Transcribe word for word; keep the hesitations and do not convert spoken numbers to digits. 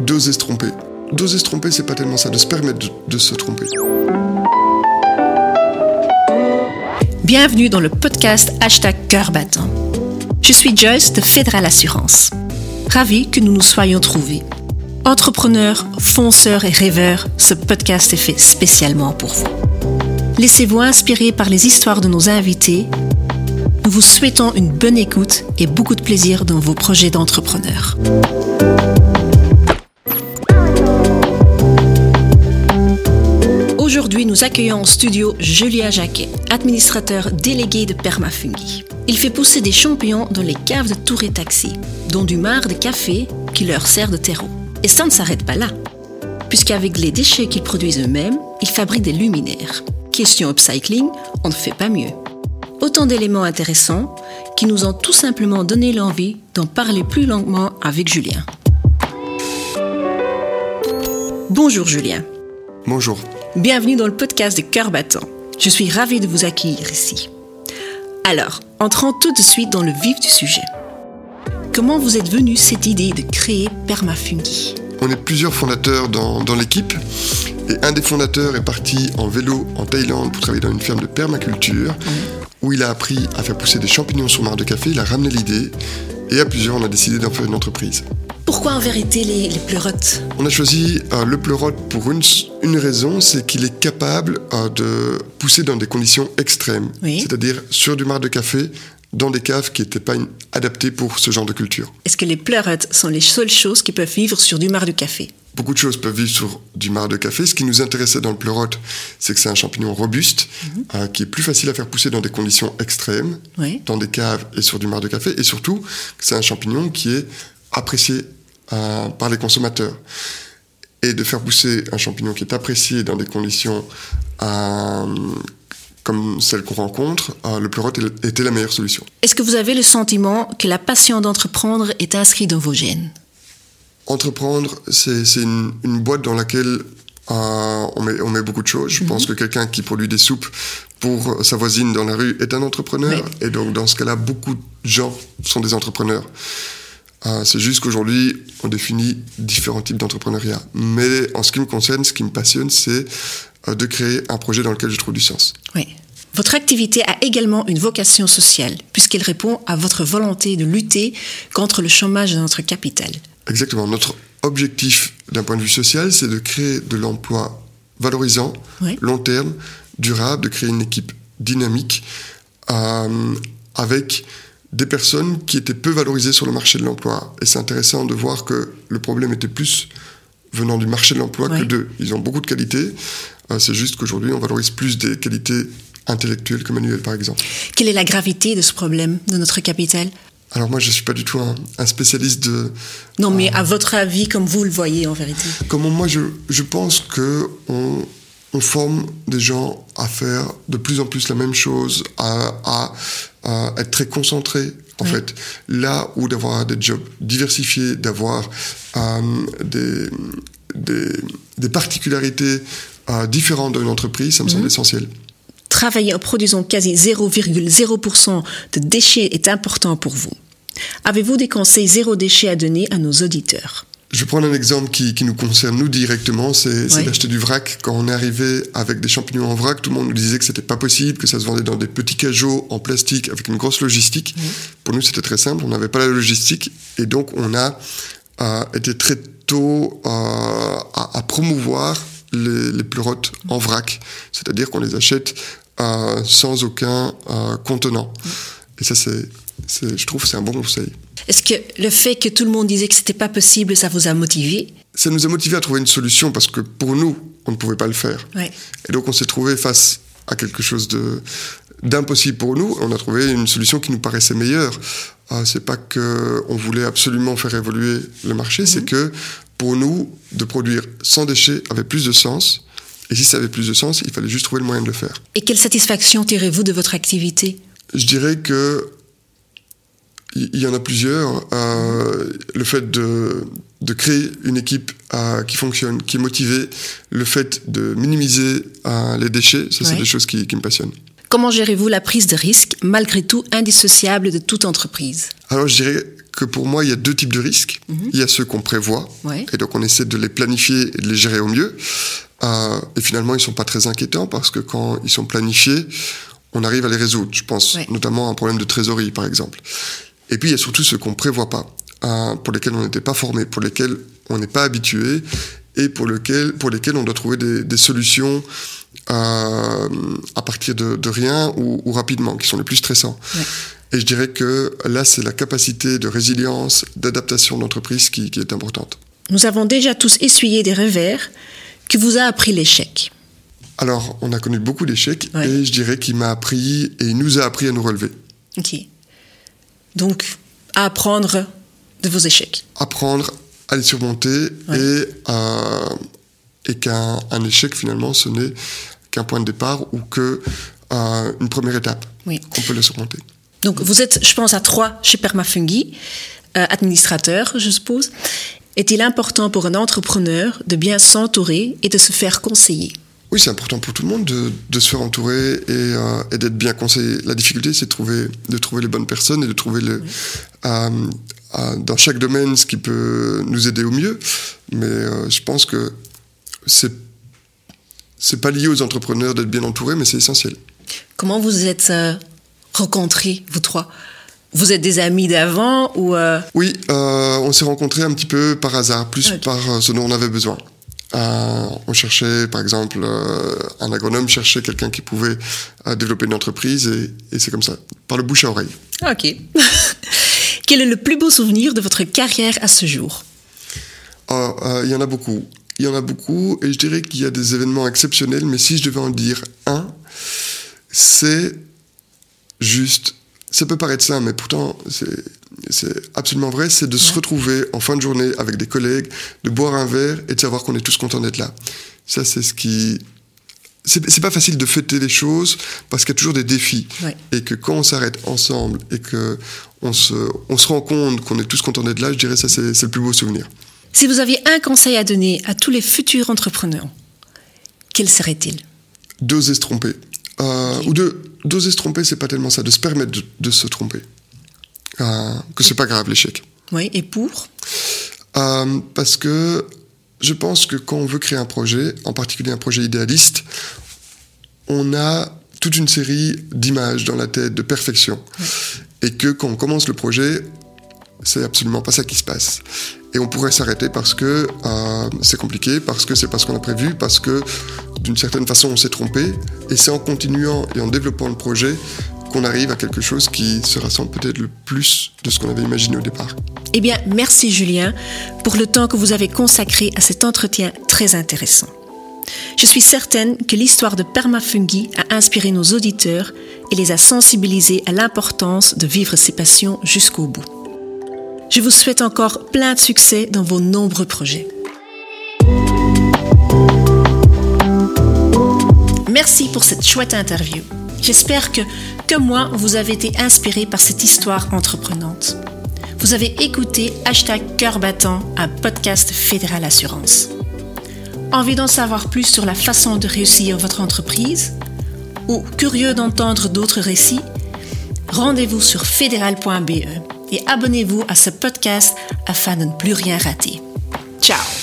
d'oser se tromper. D'oser se tromper, c'est pas tellement ça, de se permettre de, de se tromper. Bienvenue dans le podcast Hashtag Cœur Battant. Je suis Joyce de Fédéral Assurance. Ravie que nous nous soyons trouvés. Entrepreneurs, fonceurs et rêveurs, ce podcast est fait spécialement pour vous. Laissez-vous inspirer par les histoires de nos invités. Nous vous souhaitons une bonne écoute et beaucoup de plaisir dans vos projets d'entrepreneurs. Aujourd'hui, nous accueillons en studio Julien Jacquet, administrateur délégué de Permafungi. Il fait pousser des champignons dans les caves de Tour et Taxi, dont du marc de café qui leur sert de terreau. Et ça ne s'arrête pas là, puisqu'avec les déchets qu'ils produisent eux-mêmes, ils fabriquent des luminaires. Question upcycling, on ne fait pas mieux. Autant d'éléments intéressants qui nous ont tout simplement donné l'envie d'en parler plus longuement avec Julien. Bonjour Julien. Bonjour. Bienvenue dans le podcast de Cœur Battant. Je suis ravie de vous accueillir ici. Alors, entrons tout de suite dans le vif du sujet. Comment vous êtes venu cette idée de créer Permafungi ? On est plusieurs fondateurs dans, dans l'équipe et un des fondateurs est parti en vélo en Thaïlande pour travailler dans une ferme de permaculture mmh. où il a appris à faire pousser des champignons sur marc de café. Il a ramené l'idée et à plusieurs, on a décidé d'en faire une entreprise. Pourquoi en vérité les, les pleurotes ? On a choisi euh, le pleurote pour une, une raison, c'est qu'il est capable euh, de pousser dans des conditions extrêmes, oui. C'est-à-dire sur du marc de café, dans des caves qui n'étaient pas in- adaptées pour ce genre de culture. Est-ce que les pleurotes sont les seules choses qui peuvent vivre sur du marc de café ? Beaucoup de choses peuvent vivre sur du marc de café. Ce qui nous intéressait dans le pleurote, c'est que c'est un champignon robuste, mmh. euh, qui est plus facile à faire pousser dans des conditions extrêmes, oui. dans des caves et sur du marc de café, et surtout que c'est un champignon qui est apprécié euh, par les consommateurs. Et de faire pousser un champignon qui est apprécié dans des conditions euh, comme celles qu'on rencontre, euh, le pleurote était la meilleure solution. Est-ce que vous avez le sentiment que la passion d'entreprendre est inscrite dans vos gènes ? Entreprendre, c'est, c'est une, une boîte dans laquelle euh, on, met, on met beaucoup de choses. Je mm-hmm. pense que quelqu'un qui produit des soupes pour sa voisine dans la rue est un entrepreneur. Oui. Et donc, dans ce cas-là, beaucoup de gens sont des entrepreneurs. Euh, c'est juste qu'aujourd'hui, on définit différents types d'entrepreneuriat. Mais en ce qui me concerne, ce qui me passionne, c'est euh, de créer un projet dans lequel je trouve du sens. Oui. Votre activité a également une vocation sociale, puisqu'elle répond à votre volonté de lutter contre le chômage de notre capitale. Exactement. Notre objectif d'un point de vue social, c'est de créer de l'emploi valorisant, oui. long terme, durable, de créer une équipe dynamique euh, avec des personnes qui étaient peu valorisées sur le marché de l'emploi. Et c'est intéressant de voir que le problème était plus venant du marché de l'emploi oui. que d'eux. Ils ont beaucoup de qualités. Euh, c'est juste qu'aujourd'hui, on valorise plus des qualités intellectuelles que manuelles, par exemple. Quelle est la gravité de ce problème de notre capitale ? Alors moi, je ne suis pas du tout un, un spécialiste de... Non, mais euh, à votre avis, comme vous le voyez en vérité. Comme moi, je, je pense qu'on on forme des gens à faire de plus en plus la même chose, à, à, à être très concentrés, en oui. fait. Là où d'avoir des jobs diversifiés, d'avoir euh, des, des, des particularités euh, différentes d'une entreprise, ça me mmh. semble essentiel. Travailler en produisant quasi zéro virgule zéro pour cent de déchets est important pour vous. Avez-vous des conseils zéro déchet à donner à nos auditeurs ? Je vais prendre un exemple qui, qui nous concerne nous directement, c'est, oui. c'est d'acheter du vrac. Quand on est arrivé avec des champignons en vrac, tout le monde nous disait que c'était pas possible, que ça se vendait dans des petits cajots en plastique avec une grosse logistique. Oui. Pour nous, c'était très simple, on n'avait pas la logistique et donc on a euh, été très tôt euh, à, à promouvoir les, les pleurotes en vrac, c'est-à-dire qu'on les achète euh, sans aucun euh, contenant. Oui. Et ça, c'est, c'est, je trouve que c'est un bon conseil. Est-ce que le fait que tout le monde disait que c'était pas possible, ça vous a motivé ? Ça nous a motivé à trouver une solution parce que pour nous, on ne pouvait pas le faire. Ouais. Et donc on s'est trouvé face à quelque chose de, d'impossible pour nous. On a trouvé une solution qui nous paraissait meilleure. Euh, c'est pas qu'on voulait absolument faire évoluer le marché, mmh. c'est que pour nous, de produire sans déchets avait plus de sens. Et si ça avait plus de sens, il fallait juste trouver le moyen de le faire. Et quelle satisfaction tirez-vous de votre activité ? Je dirais que il y en a plusieurs. Euh, le fait de, de créer une équipe euh, qui fonctionne, qui est motivée, le fait de minimiser euh, les déchets, ça, c'est ouais. des choses qui, qui me passionnent. Comment gérez-vous la prise de risque, malgré tout indissociable de toute entreprise ? Alors, je dirais que pour moi, il y a deux types de risques. Mm-hmm. Il y a ceux qu'on prévoit, ouais. et donc on essaie de les planifier et de les gérer au mieux. Euh, et finalement, ils ne sont pas très inquiétants parce que quand ils sont planifiés, on arrive à les résoudre. Je pense ouais. notamment à un problème de trésorerie, par exemple. Et puis, il y a surtout ceux qu'on ne prévoit pas, euh, pour lesquels on n'était pas formé, pour lesquels on n'est pas habitué et pour, lequel, pour lesquels on doit trouver des, des solutions euh, à partir de, de rien ou, ou rapidement, qui sont les plus stressants. Ouais. Et je dirais que là, c'est la capacité de résilience, d'adaptation de l'entreprise qui, qui est importante. Nous avons déjà tous essuyé des revers. Que vous a appris l'échec ? Alors, on a connu beaucoup d'échecs ouais. et je dirais qu'il m'a appris et il nous a appris à nous relever. Ok. Donc, à apprendre de vos échecs. Apprendre à les surmonter ouais. et, euh, et qu'un un échec, finalement, ce n'est qu'un point de départ ou qu'une euh, première étape. Oui. Qu'on peut le surmonter. Donc, vous êtes, je pense, à trois chez Permafungi, euh, administrateur, je suppose. Est-il important pour un entrepreneur de bien s'entourer et de se faire conseiller ? Oui, c'est important pour tout le monde de, de se faire entourer et, euh, et d'être bien conseillé. La difficulté, c'est de trouver, de trouver les bonnes personnes et de trouver le, oui. euh, euh, dans chaque domaine ce qui peut nous aider au mieux. Mais euh, je pense que c'est, c'est pas lié aux entrepreneurs d'être bien entourés, mais c'est essentiel. Comment vous êtes euh, rencontrés, vous trois ? Vous êtes des amis d'avant ou euh... Oui, euh, on s'est rencontrés un petit peu par hasard, plus okay. par euh, ce dont on avait besoin. Euh, on cherchait, par exemple, euh, un agronome cherchait quelqu'un qui pouvait euh, développer une entreprise et, et c'est comme ça, par le bouche à oreille. Ok. Quel est le plus beau souvenir de votre carrière à ce jour ? Oh, euh, il y en a beaucoup. Il y en a beaucoup et je dirais qu'il y a des événements exceptionnels, mais si je devais en dire un, c'est juste... Ça peut paraître simple, mais pourtant, c'est, c'est absolument vrai, c'est de ouais. se retrouver en fin de journée avec des collègues, de boire un verre et de savoir qu'on est tous contents d'être là. Ça, c'est ce qui... C'est, c'est pas facile de fêter les choses parce qu'il y a toujours des défis. Ouais. Et que quand on s'arrête ensemble et qu'on se, on se rend compte qu'on est tous contents d'être là, je dirais que ça, c'est, c'est le plus beau souvenir. Si vous aviez un conseil à donner à tous les futurs entrepreneurs, quel serait-il ? D'oser se tromper. Euh, okay. Ou de, d'oser se tromper, c'est pas tellement ça, de se permettre de, de se tromper. Euh, que c'est pas grave, l'échec. Oui, et pour euh, Parce que je pense que quand on veut créer un projet, en particulier un projet idéaliste, on a toute une série d'images dans la tête, de perfection. Ouais. Et que quand on commence le projet, c'est absolument pas ça qui se passe. Et on pourrait s'arrêter parce que euh, c'est compliqué, parce que c'est pas ce qu'on a prévu, parce que d'une certaine façon on s'est trompé. Et c'est en continuant et en développant le projet qu'on arrive à quelque chose qui se rassemble peut-être le plus de ce qu'on avait imaginé au départ. Eh bien, merci Julien pour le temps que vous avez consacré à cet entretien très intéressant. Je suis certaine que l'histoire de Permafungi a inspiré nos auditeurs et les a sensibilisés à l'importance de vivre ses passions jusqu'au bout. Je vous souhaite encore plein de succès dans vos nombreux projets. Merci pour cette chouette interview. J'espère que, comme moi, vous avez été inspiré par cette histoire entreprenante. Vous avez écouté hashtag Cœur Battant, un podcast Fédéral Assurance. Envie d'en savoir plus sur la façon de réussir votre entreprise ou curieux d'entendre d'autres récits? Rendez-vous sur fédéral point b e et abonnez-vous à ce podcast afin de ne plus rien rater. Ciao!